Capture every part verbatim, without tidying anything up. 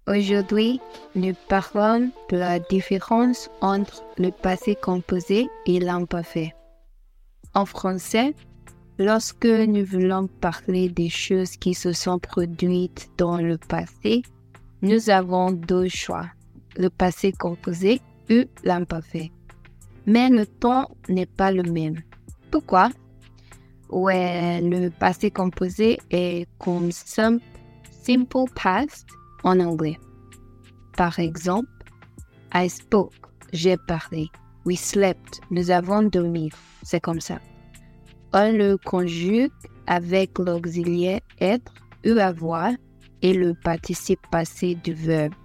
Aujourd'hui, nous parlons de la différence entre le passé composé et l'imparfait. En français, lorsque nous voulons parler des choses qui se sont produites dans le passé, nous avons deux choix, le passé composé ou l'imparfait. Mais le ton n'est pas le même. Pourquoi? Ouais, le passé composé est comme simple, simple past en anglais. Par exemple, I spoke, j'ai parlé. We slept, nous avons dormi. C'est comme ça. On le conjugue avec l'auxiliaire être ou avoir et le participe passé du verbe.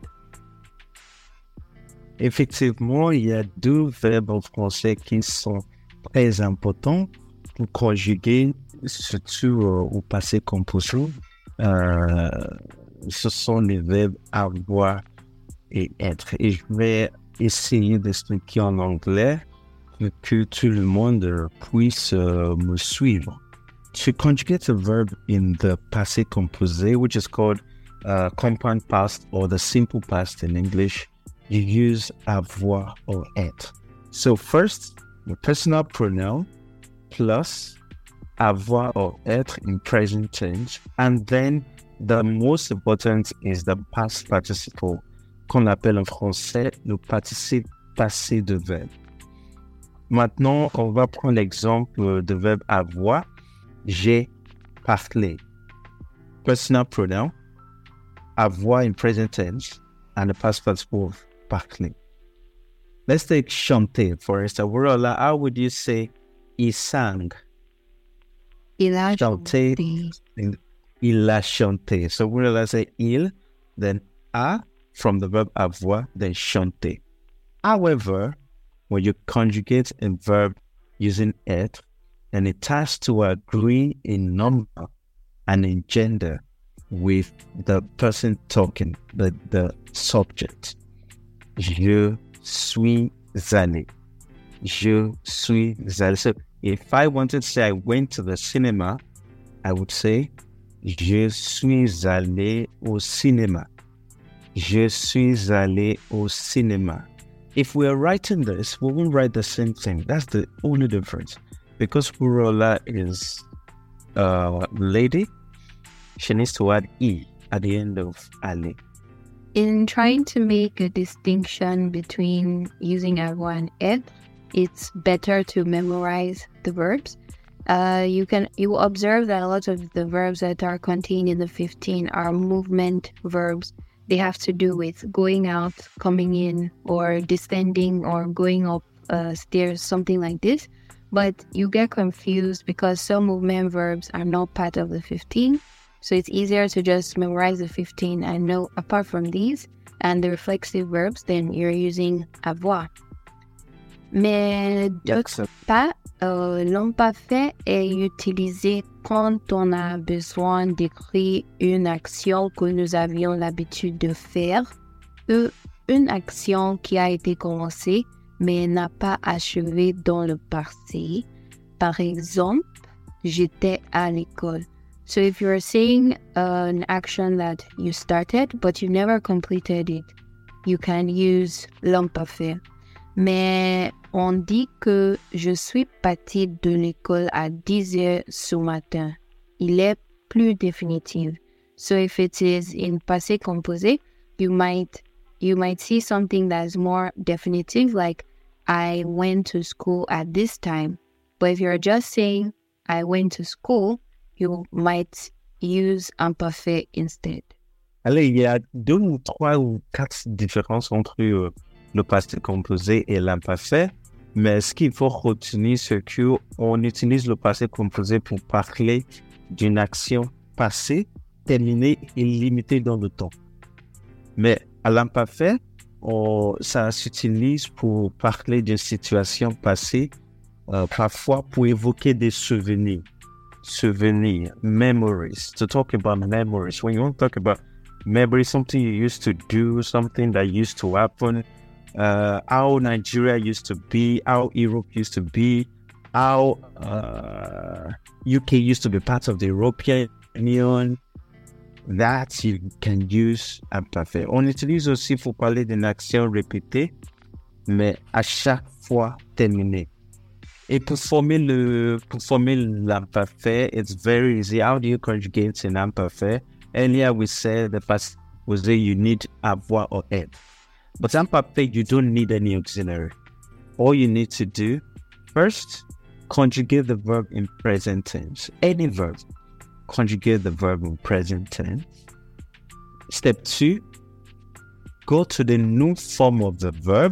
Effectivement, il y a deux verbes en français qui sont très importants pour conjuguer, surtout euh, au passé composé. Euh, ce sont les verbes avoir et être. Et je vais essayer d'expliquer en anglais pour que tout le monde puisse uh, me suivre. To conjugate a verb in the passé composé, which is called uh, compound past or the simple past in English, you use avoir or être. So first, the personal pronoun plus avoir or être in present tense, and then the most important is the past participle, qu'on appelle en français le participe passé de verbe. Maintenant, on va prendre l'exemple de verbe avoir. J'ai parlé. Personal pronoun, avoir in present tense, and the past participle of parler. Let's take chanter, for instance. Wurola, how would you say il sang? Il a Chanter. chanté. Il a chanté. So Wurola say il, then a from the verb avoir, then chanter. However, when you conjugate a verb using être, and it has to agree in number and in gender with the person talking, the, the subject. Je suis allé. Je suis allé. So if I wanted to say I went to the cinema, I would say je suis allé au cinéma. Je suis allé au cinéma. If we are writing this, we won't write the same thing. That's the only difference. Because Wurola is a uh, lady, she needs to add E at the end of allé. In trying to make a distinction between using avoir and être, it's better to memorize the verbs. Uh, you can you will observe that a lot of the verbs that are contained in the fifteen are movement verbs. They have to do with going out, coming in, or descending, or going up uh, stairs, something like this. But you get confused because some movement verbs are not part of the fifteen. So it's easier to just memorize the fifteen and know apart from these and the reflexive verbs, then you're using avoir. Mais d'autre part, euh, l'imparfait est utilisé quand on a besoin d'écrire une action que nous avions l'habitude de faire ou une action qui a été commencée mais n'a pas achevé dans le passé. Par exemple, j'étais à l'école. So if you're saying uh, an action that you started but you never completed it, you can use l'imparfait. Mais on dit que je suis partie de l'école à dix heures ce matin. Il est plus définitif. So if it is in passé composé, you might you might see something that's more definitive, like I went to school at this time. But if you're just saying I went to school, you might use imparfait instead. Allez, il y a deux ou trois ou quatre différences entre euh, le passé composé et l'imparfait, mais ce qu'il faut retenir, c'est qu'on utilise le passé composé pour parler d'une action passée, terminée et limitée dans le temps. Mais à l'imparfait, on, ça s'utilise pour parler d'une situation passée, euh, parfois pour évoquer des souvenirs. Souvenirs, memories, to talk about memories. When you want to talk about memories, something you used to do, something that used to happen, uh, how Nigeria used to be, how Europe used to be, how uh, U K used to be part of the European Union, that you can use imparfait. On utilise aussi pour parler d'une action répétée, mais à chaque fois terminée. Et pour former le, pour former l'imparfait, it's very easy. How do you conjugate in imperfect? Earlier we said the past was that you need avoir or être. But imperfect, you don't need any auxiliary. All you need to do, first, conjugate the verb in present tense. Any verb, conjugate the verb in present tense. Step two, go to the new form of the verb.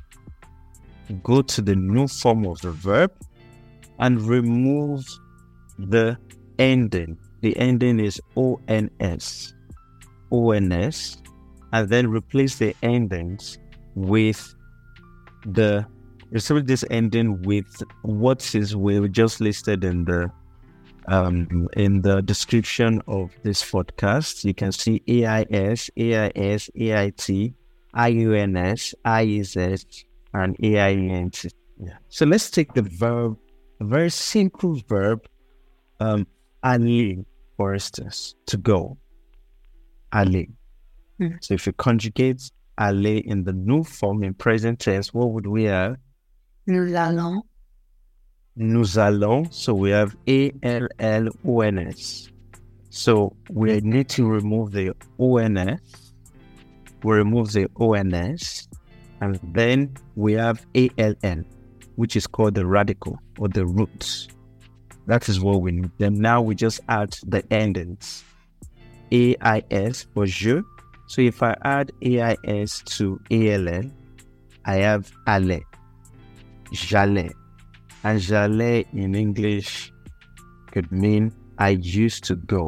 Go to the new form of the verb and remove the ending. The ending is O N S. O N S. And then replace the endings with the, replace this ending with what is we just listed in the um in the description of this podcast. You can see A I S, A I S, A I T, I U N S, I E Z, and A I E N T. Yeah. So let's take the verb, a very simple verb, um, aller, for instance, to go. Aller. Mm-hmm. So if you conjugate aller in the new form in present tense, what would we have? Nous allons. Nous allons. So we have A L L O N S. So we need to remove the O N S. We remove the O N S. And then we have A L N, which is called the radical or the root. That is what we need. Then now we just add the endings. A I S for je. So if I add A I S to A L N, I have aller, j'allais. And j'allais in English could mean I used to go.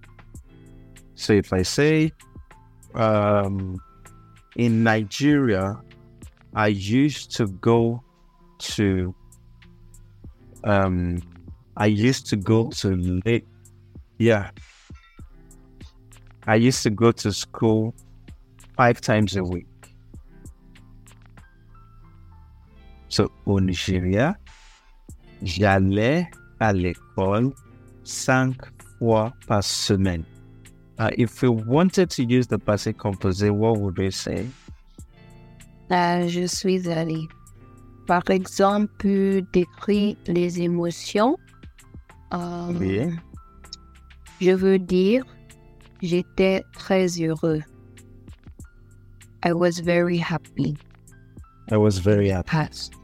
So if I say, um, in Nigeria, I used to go to, um, I used to go to, late, yeah. I used to go to school five times a week. So, au Nigeria, j'allais à l'école cinq fois par semaine. Uh, if we wanted to use the passé composé, what would we say? Uh, je suis allé. Par exemple, décrire les émotions. Um, oui. Je veux dire, j'étais très heureux. I was very happy. I was very happy. Past.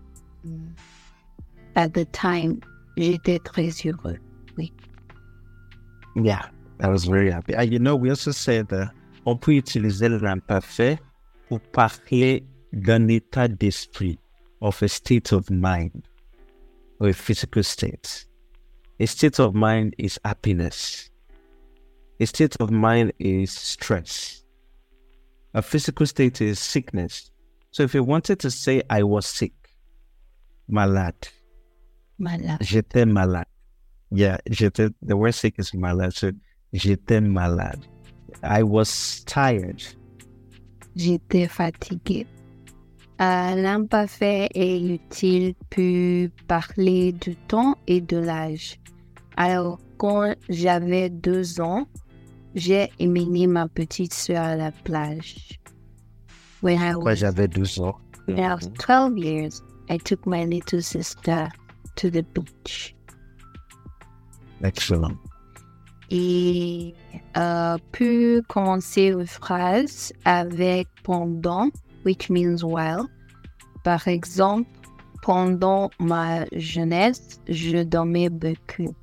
At the time, j'étais très heureux. Oui. Yeah, I was very happy. And you know, we also said that on peut utiliser l'imparfait pour parler d'un état d'esprit, of a state of mind, or a physical state. A state of mind is happiness. A state of mind is stress. A physical state is sickness. So if you wanted to say, I was sick, malade. Malade. J'étais malade. Yeah, j'étais, the word sick is malade. So j'étais malade. I was tired. J'étais fatigué. Euh, l'imparfait est utile pour parler du temps et de l'âge. Alors, quand j'avais deux ans, j'ai emmené ma petite sœur à la plage. When I Quand was, j'avais douze ans. when I was twelve years, I took my little sister to the beach. Excellent. Et euh, puis commencer une phrase avec pendant, which means while. Par exemple, pendant ma jeunesse, je dormais beaucoup.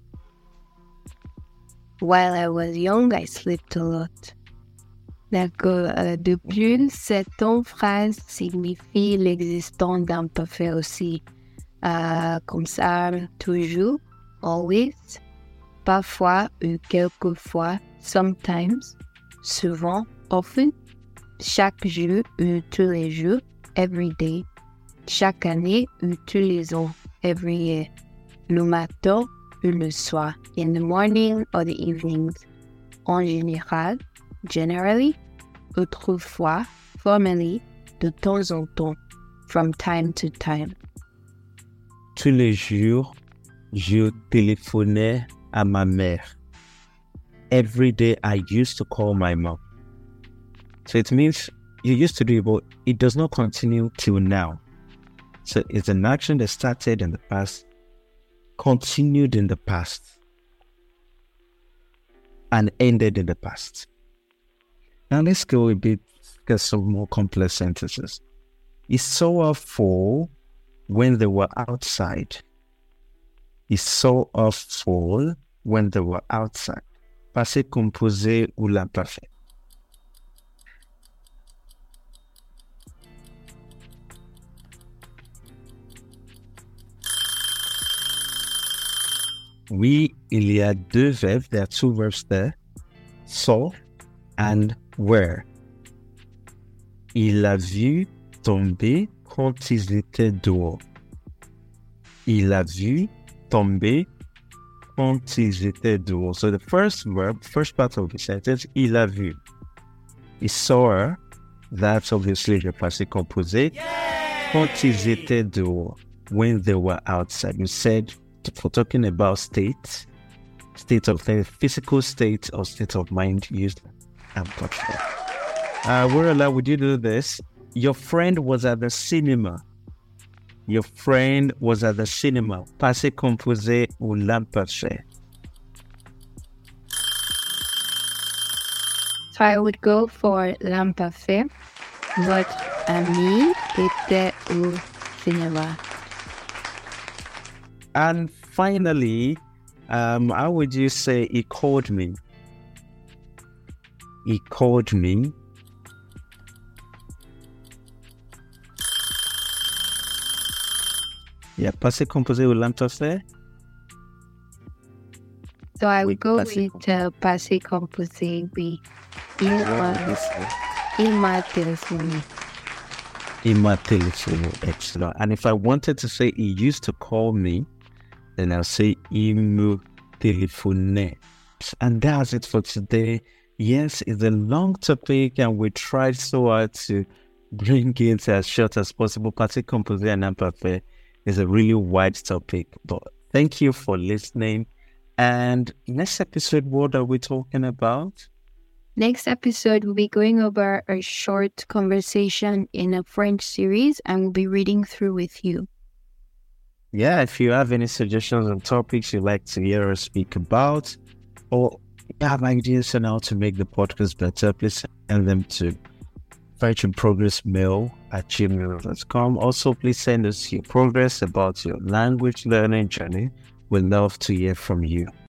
While I was young, I slept a lot. D'accord. Euh, de plus, cette phrase signifie l'existence d'imparfait aussi. Euh, comme ça, toujours, always, parfois ou quelquefois, sometimes, souvent, often, chaque jour ou tous les jours, every day, chaque année ou tous les ans, every year, le matin ou le soir, in the morning or the evenings, en général, generally, autrefois, formerly, de temps en temps, from time to time. Tous les jours, je téléphonais à ma mère. every day I used to call my mom. So it means you used to do it, but it does not continue till now. So it's an action that started in the past, continued in the past, and ended in the past. Now let's go a bit, get some more complex sentences. He saw her fall when they were outside. He saw her fall when they were outside. Passé composé ou l'imparfait. Oui, il y a deux verbes. There are two verbs there. Saw and were. Il a vu tomber quand ils étaient dehors. Il a vu tomber quand ils étaient dehors. So the first verb, first part of the sentence, il a vu. He saw her. That's obviously the passé composé. Quand ils étaient dehors. When they were outside. You said, for talking about state, state of the physical state or state of mind used and touched. Uh, Wurala, would you do this? Your friend was at the cinema. Your friend was at the cinema. Passé composé ou l'imparfait. So I would go for l'imparfait. Votre ami était au cinéma. And finally, um, how would you say he called me? He called me. Yeah, passé composé ou l'imparfait? So I would go Passé with uh, passé composé, oui. Il m'a, il m'a téléphoné. Il m'a téléphoné. Excellent. And if I wanted to say he used to call me, then I'll say il me téléphonait. And that's it for today. Yes, it's a long topic and we tried so hard to bring it as short as possible. Passé composé and imparfait is a really wide topic. But thank you for listening. And next episode, what are we talking about? Next episode, we'll be going over a short conversation in a French series and we'll be reading through with you. Yeah, if you have any suggestions on topics you'd like to hear us speak about, or you have ideas on how to make the podcast better, please send them to virtualprogressmail at gmail dot com. Also, please send us your progress about your language learning journey. We'd love to hear from you.